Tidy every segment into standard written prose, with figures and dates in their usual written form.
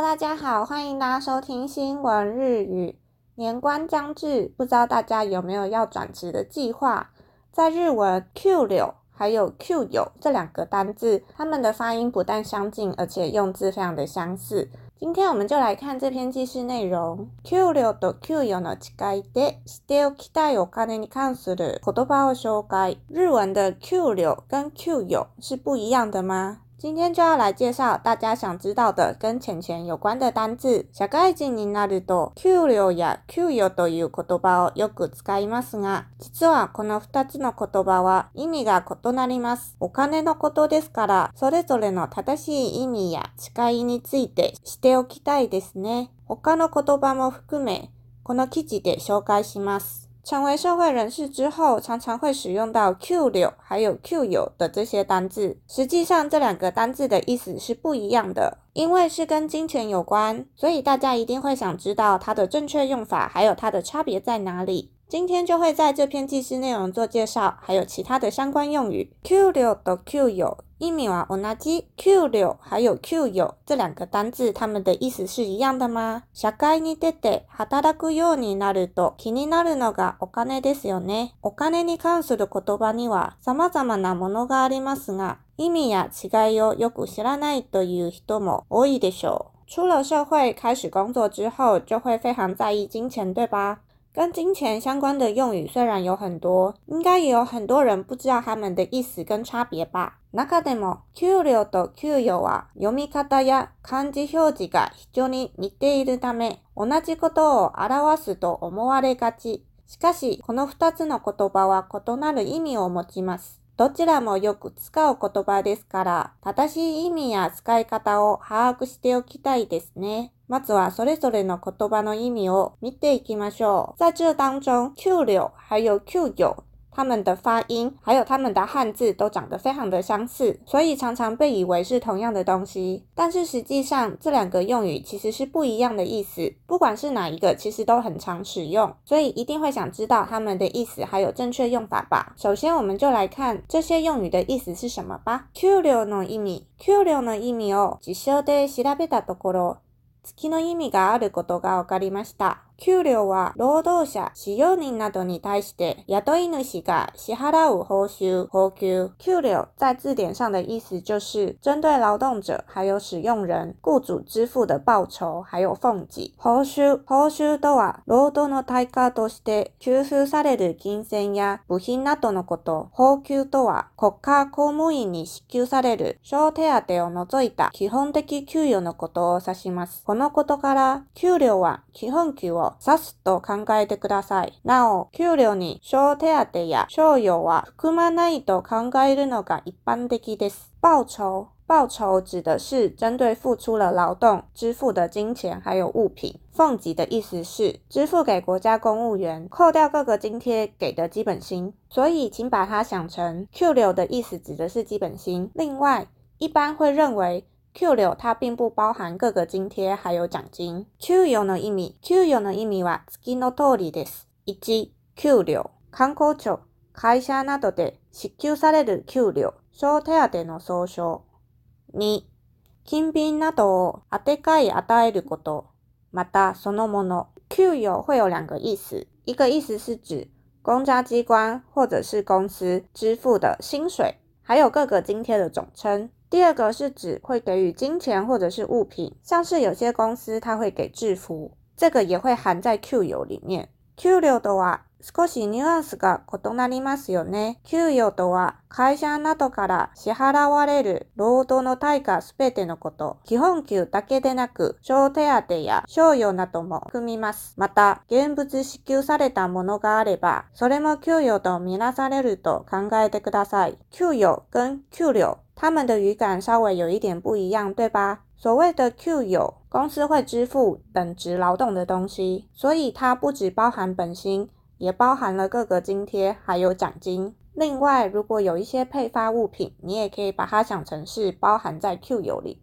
大家好，歡迎大家收聽新聞日語。年關將至，不知道大家有沒有要轉職的計劃？在日文給料還有給與這兩個單字，它們的發音不但相近，而且用字非常的相似。今天我們就來看這篇記事內容。給料と給與の違いでしておきたいお金に関する言葉を紹介。日文的給料跟給與是不一樣的嗎？今天就要來介紹大家想知道的跟錢有關的單字。社會人になると給料や給與という言葉をよく使いますが、実はこの2つの言葉は意味が異なります。お金のことですから、それぞれの正しい意味や違いについてしておきたいですね。他の言葉も含め、この記事で紹介します。成為社會人士之後，常常會使用到給料還有給與的這些單字。實際上，這兩個單字的意思是不一樣的。因為是跟金錢有關，所以大家一定會想知道它的正確用法，還有它的差別在哪裡。今天就會在這篇記事內容做介紹，還有其他的相關用語。給料と給與意味は同じ。給料還有給與這兩個單字，它們的意思是一樣的嗎？社會に出て働くようになると気になるのがお金ですよね。お金に関する言葉には様々なものがありますが、意味や違いをよく知らないという人も多いでしょう。出了社會，開始工作之後，就會非常在意金錢，對吧？跟金錢相關的用語雖然有很多，應該也有很多人不知道它們的意思跟差別吧。中でも給料と給與は読み方や漢字表示が非常に似ているため、同じことを表すと思われがち。しかし、この2つの言葉は異なる意味を持ちます。どちらもよく使う言葉ですから、正しい意味や使い方を把握しておきたいですね。まずはそれぞれの言葉の意味を見ていきましょう。在這當中，給料還有給與他們的發音還有他們的漢字都長得非常的相似，所以常常被以為是同樣的東西。但是實際上，這兩個用語其實是不一樣的意思。不管是哪一個，其實都很常使用，所以一定會想知道他們的意思還有正確用法吧。首先，我們就來看這些用語的意思是什麼吧。給料の意味。給料の意味を辭書で調べたところ、月の意味があることが分かりました。給料は労働者、使用人などに対して雇い主が支払う報酬、報給。給料在字典上的意思就是針對勞動者還有使用人、雇主支付的報酬還有俸給。報酬とは勞働の対価として給付される金銭や部品などのこと。報給とは国家公務員に支給される小手当を除いた基本的給与のことを指します。このことから給料は基本給を指すと考えてください。なお、給料に小手当や賞与は含まないと考えるのが一般的です。報酬指的是針對付出了勞動支付的金錢還有物品。俸給的意思是支付給國家公務員，扣掉各個津貼給的基本薪。所以請把它想成給料的意思指的是基本薪。另外，一般會認為給料它並不包含各個津貼還有獎金。給與の意味。給與の意味は次の通りです。1、給料。官公庁、会社などで支給される給料、小手当の総称。2、金品などをあてがい與えること、またそのもの。給與會有兩個意思，一個意思是指公家機關或者是公司支付的薪水，還有各個津貼的總稱。第二個是指會給予金錢或者是物品，像是有些公司它會給制服，這個也會含在給與裡面。給料とは少しニュアンスが異なりますよね。給与とは会社などから支払われる労働の対価すべてのこと。基本給だけでなく、小手当や賞与なども含みます。また、現物支給されたものがあれば、それも給与とみなされると考えてください。給與跟給料他們的語感稍微有一點不一樣，對吧？所謂的給與，公司會支付等值勞動的東西，所以它不只包含本薪，也包含了各個津貼還有獎金。另外，如果有一些配發物品，你也可以把它想成是包含在給與裡面。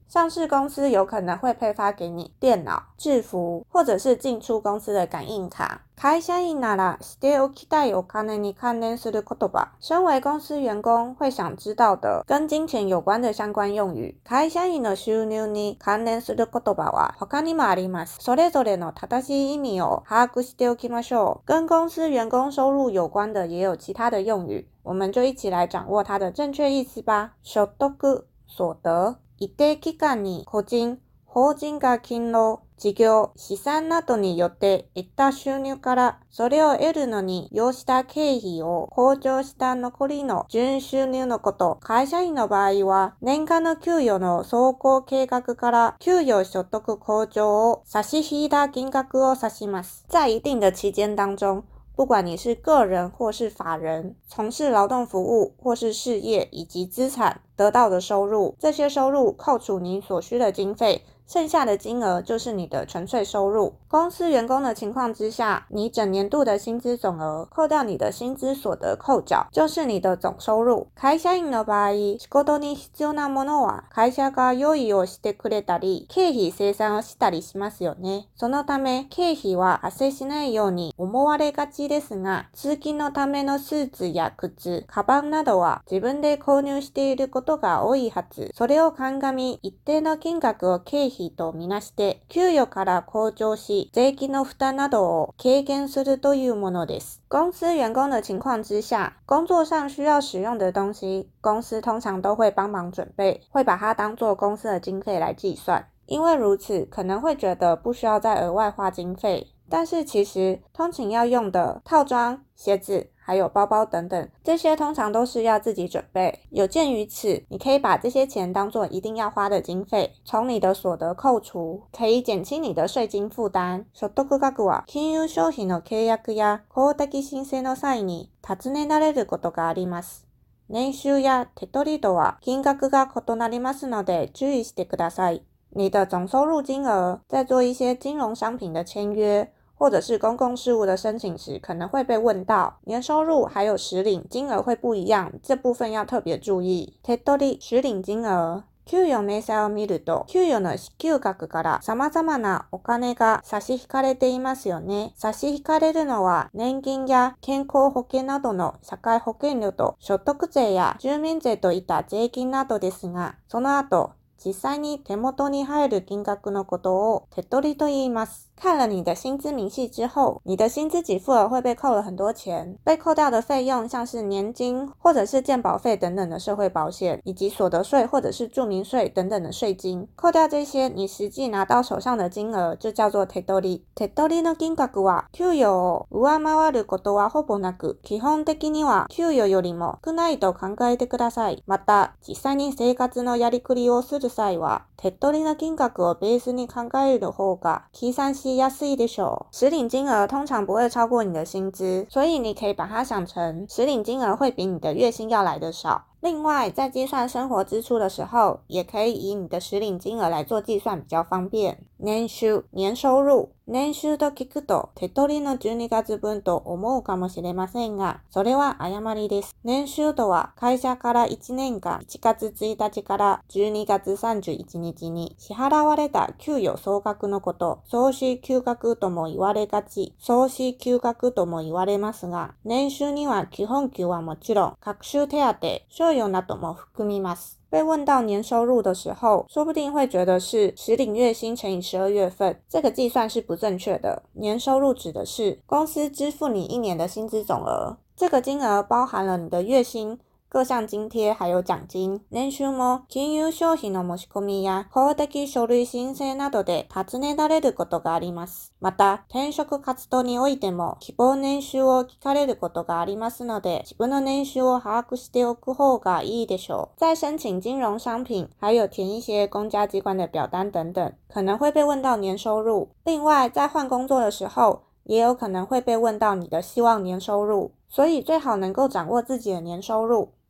上市公司有可能會配發給你電腦、制服，或者是進出公司的感應卡。會社員ならしておきたいお金に関連する言葉。身為公司員工會想知道的跟金錢有關的相關用語。會社員の収入に関連する言葉は他にもあります。それぞれの正しい意味を把握しておきましょう。跟公司員工收入有關的也有其他的用語，我們就一起來掌握它的正確意思吧。所得、所得。一定期間に個人、法人が勤労、事業、資産などによって得た収入から、それを得るのに要した経費を控除した残りの純収入のこと。会社員の場合は、年間の給与の走行計畫から給与所得控除を差し引いた金額を指します。在一定的期間當中，不管你是個人或是法人，從事勞動服務或是事業以及資產得到的收入，這些收入扣除你所需的經費，剩下的金額就是你的純粹收入。公司員工的情況之下，你整年度的薪資總額扣掉你的薪資所得扣繳，就是你的總收入。會社員の場合、仕事に必要なものは会社が用意をしてくれたり、経費生産をしたりしますよね。そのため、経費は発生しないように思われがちですが、通勤のためのスーツや靴、カバンなどは自分で購入していることが多いはず。それを鑑み、一定の金額を経費とみなして給与から控除し、税金の負擔などを軽減するというものです。公司員工的情況之下，工作上需要使用的東西，公司通常都會幫忙準備，會把它當作公司的經費來計算。因為如此，可能會覺得不需要再額外花經費，但是其實通勤要用的套裝、鞋子還有包包等等，這些通常都是要自己準備。有鑑於此，你可以把這些錢當作一定要花的經費，從你的所得扣除，可以減輕你的稅金負擔。所得額は金融商品の契約や公的申請の際に尋ねられることがあります。年収や手取り度は金額が異なりますので注意してください。你的總收入金額在做一些金融商品的簽約或者是公共事務的申請時，可能會被問到年收入還有實領金額會不一樣，這部分要特別注意。手取り、實領金額。給與明細を見ると、給與の支給額から様々なお金が差し引かれていますよね。差し引かれるのは年金や健康保険などの社会保険料と所得税や住民税といった税金などですが、その後、実際に手元に入る金額のことを手取りと言います。看了你的薪資明細之後，你的薪資給付額會被扣了很多錢，被扣掉的費用像是年金或者是健保費等等的社會保險，以及所得稅或者是住民稅等等的稅金。扣掉這些，你實際拿到手上的金額就叫做手取り。手取りの金額は給与を上回ることはほぼなく、基本的には給与よりも少ないと考えてください。また、実際に生活のやりくりをする際は、手取りの金額をベースに考える方が計算しやすいでしょう。實領金額通常不會超過你的薪資，所以你可以把它想成實領金額會比你的月薪要來得少。另外，在計算生活支出的時候，也可以以你的實領金額來做計算，比較方便。年収、年收入。年収と聞くと、手取りの12月分と思うかもしれませんが、それは誤りです。年収とは、会社から1年間1月1日から12月31日に支払われた給与総額のこと、総支給額とも言われがち、総支給額とも言われますが、年収には基本給はもちろん、各種手当、賞與なども含みます。被問到年收入的時候，說不定會覺得是實領月薪乘以12月份，這個計算是不正確的。年收入指的是公司支付你一年的薪資總額，這個金額包含了你的月薪、各項津貼還有獎金。年収も金融商品の申し込みや公的書類申請などで尋ねられることがあります。また、転職活動においても希望年収を聞かれることがありますので、自分の年収を把握しておく方がいいでしょう。在申請金融商品，還有填一些公家機關的表單等等，可能會被問到年收入。另外，在換工作的時候，也有可能會被問到你的希望年收入，所以最好能夠掌握自己的年收入。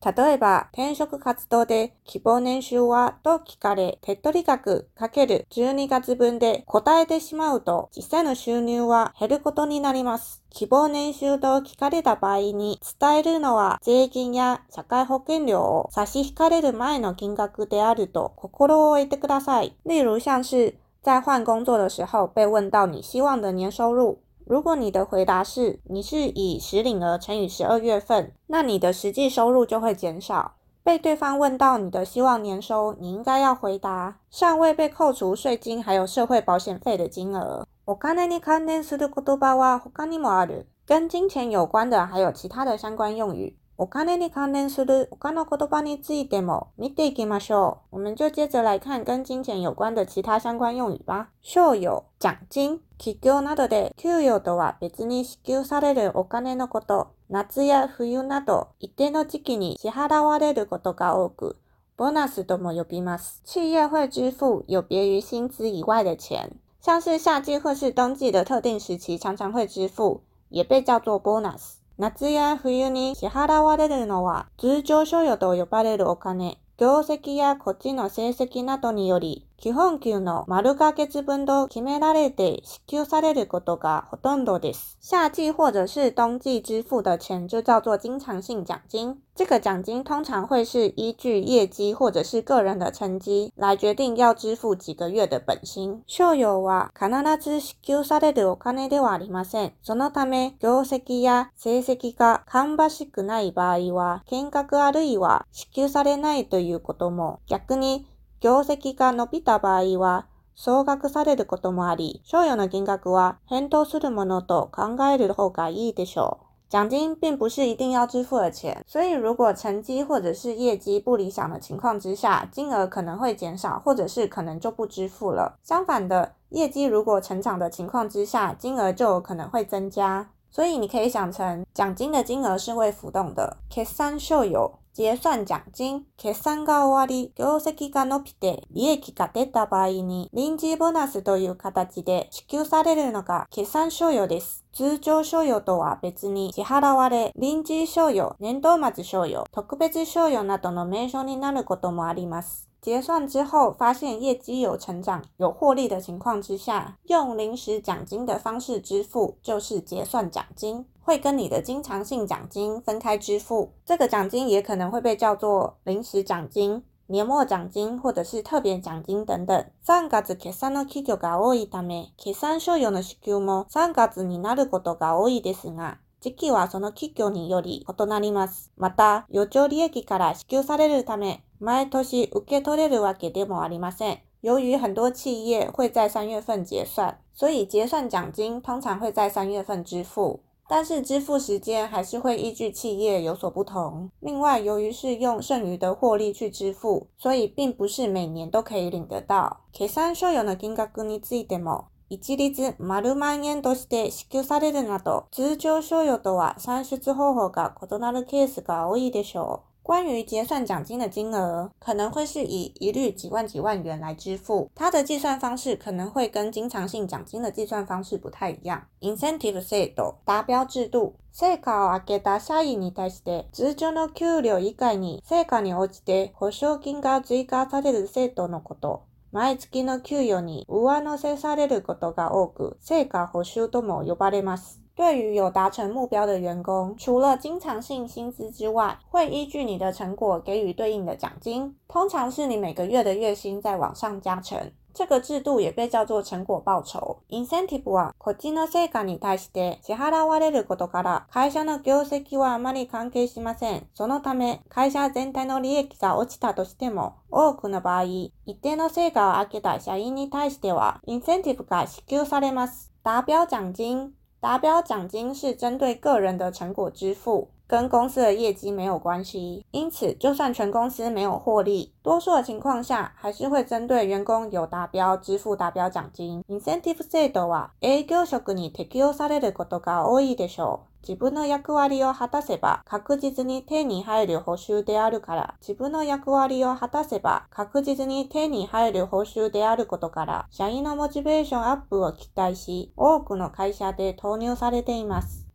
例えば、転職活動で希望年収はと聞かれ、手取り額×12月分で答えてしまうと、実際の収入は減ることになります。希望年収と聞かれた場合に伝えるのは税金や社会保険料を差し引かれる前の金額であると心を置いてください。例如像是在換工作的時候被問到你希望的年收入，如果你的回答是你是以實領額乘以12月份，那你的實際收入就會減少。被對方問到你的希望年收，你應該要回答尚未被扣除稅金還有社會保險費的金額。お金に関連する言葉は他にもある。跟金錢有關的還有其他的相關用語。お金に関連する他の言葉についても見ていきましょう。我們就接着來看跟金錢有關的其他相關用語吧。賞與、獎金。企業などで給与とは別に支給されるお金のこと。夏や冬など一定の時期に支払われることが多く、ボーナスとも呼びます。企業會支付有別於薪資以外的錢，像是夏季或是冬季的特定時期常常會支付，也被叫做ボーナス。夏や冬に支払われるのは通常賞與と呼ばれるお金。業績や個人の成績などにより、基本給の丸ヶ月分と決められて支給されることがほとんどです。夏季或者是冬季支付的錢就叫做經常性獎金。這個獎金通常會是依據業績或者是個人的成績來決定要支付幾個月的本薪。賞與は必ず支給されるお金ではありません。そのため、業績や成績が芳しくない場合は、減額あるいは支給されないということも、逆に業績が伸びた場合は総額されることもあり、賞與の金額は変動するものと考える方がいいでしょう。獎金並不是一定要支付的錢，所以如果成績或者是業績不理想的情況之下，金額可能會減少，或者是可能就不支付了。相反的，業績如果成長的情況之下，金額就有可能會增加。所以你可以想成，獎金的金額是會浮動的。決算賞與。結算獎金。決算が終わり、業績が伸びて利益が出た場合に臨時ボーナスという形で支給されるのが決算賞與です。通常賞與とは別に支払われ、臨時賞與、年度末賞與、特別賞與などの名稱になることもあります。結算之後發現業績有成長、有獲利的情況之下，用臨時獎金的方式支付就是結算獎金，會跟你的經常性獎金分開支付。這個獎金也可能會被叫做臨時獎金、年末獎金或者是特別獎金等等。3月決算の企業が多いため、決算賞與の支給も3月になることが多いですが、時期はその企業により異なります。また、余剰利益から支給されるため、毎年受け取れるわけでもありません。由於很多企業會在3月份結算，所以結算獎金通常會在3月份支付，但是支付時間還是會依據企業有所不同。另外，由於是用剩餘的獲利去支付，所以並不是每年都可以領得到。決算賞與の金額についても、一律丸萬円として支給されるなど、通常賞與とは算出方法が異なるケースが多いでしょう。關於結算獎金的金額，可能會是以一律幾萬元來支付，它的計算方式可能會跟經常性獎金的計算方式不太一樣。Incentive 制度、達標制度。成果を上げた社員に対して通常の給料以外に成果に応じて報奨金が追加される制度のこと。毎月の給与に上乗せされることが多く、成果報酬とも呼ばれます。對於有達成目標的員工，除了經常性薪資之外，會依據你的成果給予對應的獎金，通常是你每個月的月薪再往上加成。這個制度也被叫做成果報酬。Incentive は個人の成果に対して支払われることから、会社の業績はあまり関係しません。そのため、会社全体の利益が落ちたとしても、多くの場合、一定の成果を上げた社員に対しては、インセンティブが支給されます。達標獎金。達標獎金是針對個人的成果支付，跟公司的業績沒有關係。因此，就算全公司沒有獲利，多數的情況下，還是會針對員工有達標支付達標獎金。Incentive 制度は営業職に適用されることが多いでしょう。自分の役割を果たせば確実に手に入る報酬であるから、自分の役割を果たせば確実に手に入る報酬であることから、社員のモチベーションアップを期待し、多くの会社で投入されています。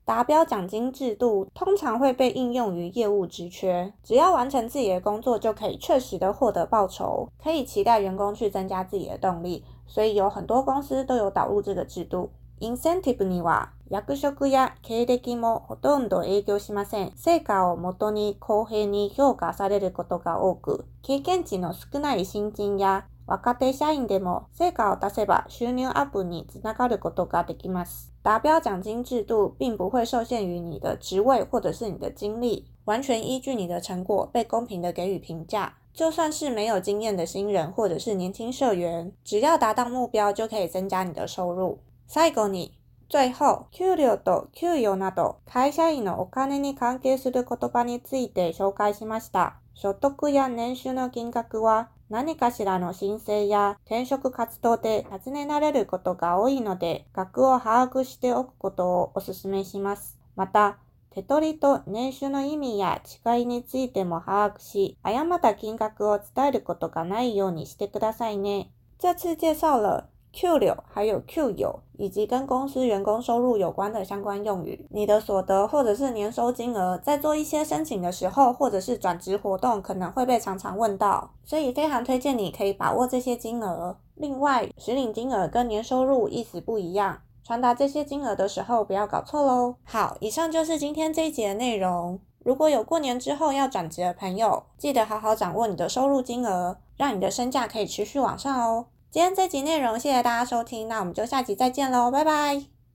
達標獎金制度通常會被應用於業務職缺，只要完成自己的工作就可以確實的獲得報酬，可以期待員工去增加自己的動力，所以有很多公司都有導入這個制度。インセンティブには役職や経歴もほとんど影響しません。成果をもとに公平に評価されることが多く、経験値の少ない新人や若手社員でも成果を出せば収入アップにつながることができます。達標獎金制度並不會受限於你的職位或者是你的經歷，完全依據你的成果被公平的給予評價。就算是沒有經驗的新人或者是年輕社員，只要達到目標就可以增加你的收入。最後に、最後、給料と給与など、会社員のお金に関係する言葉について紹介しました。所得や年収の金額は、何かしらの申請や転職活動で尋ねられることが多いので、額を把握しておくことをお勧めします。また、手取りと年収の意味や違いについても把握し、誤った金額を伝えることがないようにしてくださいね。這次介紹了給料還有給與以及跟公司員工收入有關的相關用語。你的所得或者是年收金額在做一些申請的時候或者是轉職活動可能會被常常問到，所以非常推薦你可以把握這些金額。另外，實領金額跟年收入意思不一樣，傳達這些金額的時候不要搞錯咯。好，以上就是今天這一集的內容。如果有過年之後要轉職的朋友，記得好好掌握你的收入金額，讓你的身價可以持續往上哦。今天這集內容，謝謝大家收聽，那我們就下集再見嘍，拜拜。